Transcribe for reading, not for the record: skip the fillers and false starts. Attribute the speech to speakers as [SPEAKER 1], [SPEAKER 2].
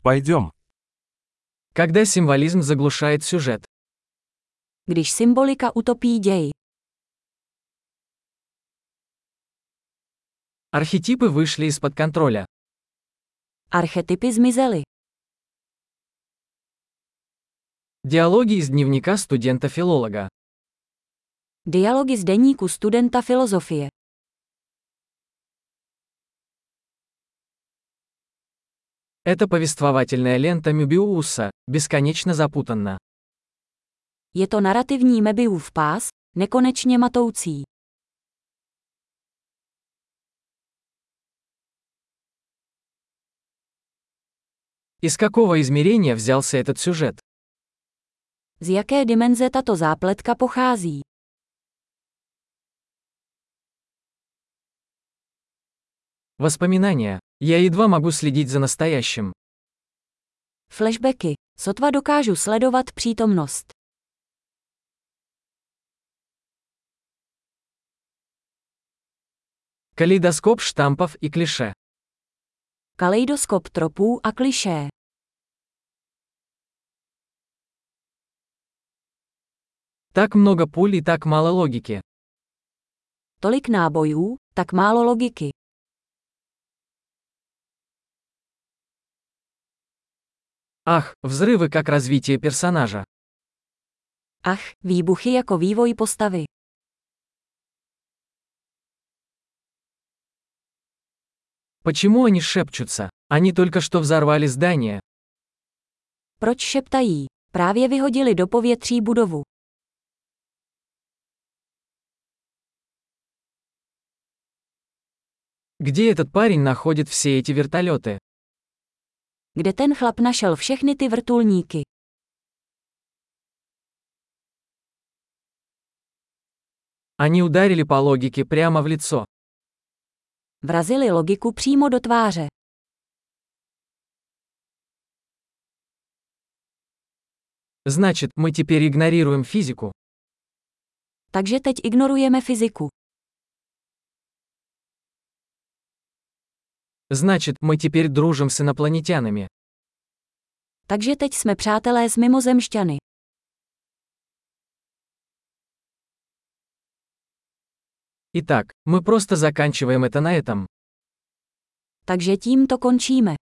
[SPEAKER 1] Пойдем.
[SPEAKER 2] Когда символизм заглушает сюжет.
[SPEAKER 3] Když symbolika utopí děj.
[SPEAKER 2] Архетипы вышли из-под контроля.
[SPEAKER 3] Archetypy zmizely.
[SPEAKER 2] Диалоги из дневника студента-филолога.
[SPEAKER 3] Dialogy z deníku studenta filozofie.
[SPEAKER 2] Это повествовательная лента Мёбиуса, бесконечно запутанна.
[SPEAKER 3] Je to narrativní Möbiusův pás, nekonečně matoucí.
[SPEAKER 2] Из какого измерения взялся этот сюжет?
[SPEAKER 3] Z jaké dimenze tato zápletka pochází?
[SPEAKER 2] Воспоминания. Я едва могу следить за настоящим.
[SPEAKER 3] Flashbacky. Sotva dokážu sledovat přítomnost.
[SPEAKER 2] Калейдоскоп штампов и клише.
[SPEAKER 3] Kaleidoskop tropů a klišé.
[SPEAKER 2] Так много пуль и так мало логики.
[SPEAKER 3] Tolik nábojů, tak málo logiky.
[SPEAKER 2] Ах, взрывы как развитие персонажа.
[SPEAKER 3] Ach, výbuchy jako vývoj postavy.
[SPEAKER 2] Почему они шепчутся? Они только что взорвали здание.
[SPEAKER 3] Proč šeptají? Právě vyhodili do povětří budovu.
[SPEAKER 2] Где этот парень находит все эти вертолеты?
[SPEAKER 3] Kde ten chlap našel všechny ty vrtulníky?
[SPEAKER 2] Они ударили по логике прямо в лицо.
[SPEAKER 3] Vrazili logiku přímo do tváře.
[SPEAKER 2] Значит, мы теперь игнорируем физику.
[SPEAKER 3] Takže teď ignorujeme fyziku.
[SPEAKER 2] Значит, мы теперь дружим с инопланетянами.
[SPEAKER 3] Takže teď jsme přátelé s mimozemšťany.
[SPEAKER 2] Итак, мы просто заканчиваем это на этом.
[SPEAKER 3] Takže tím to končíme.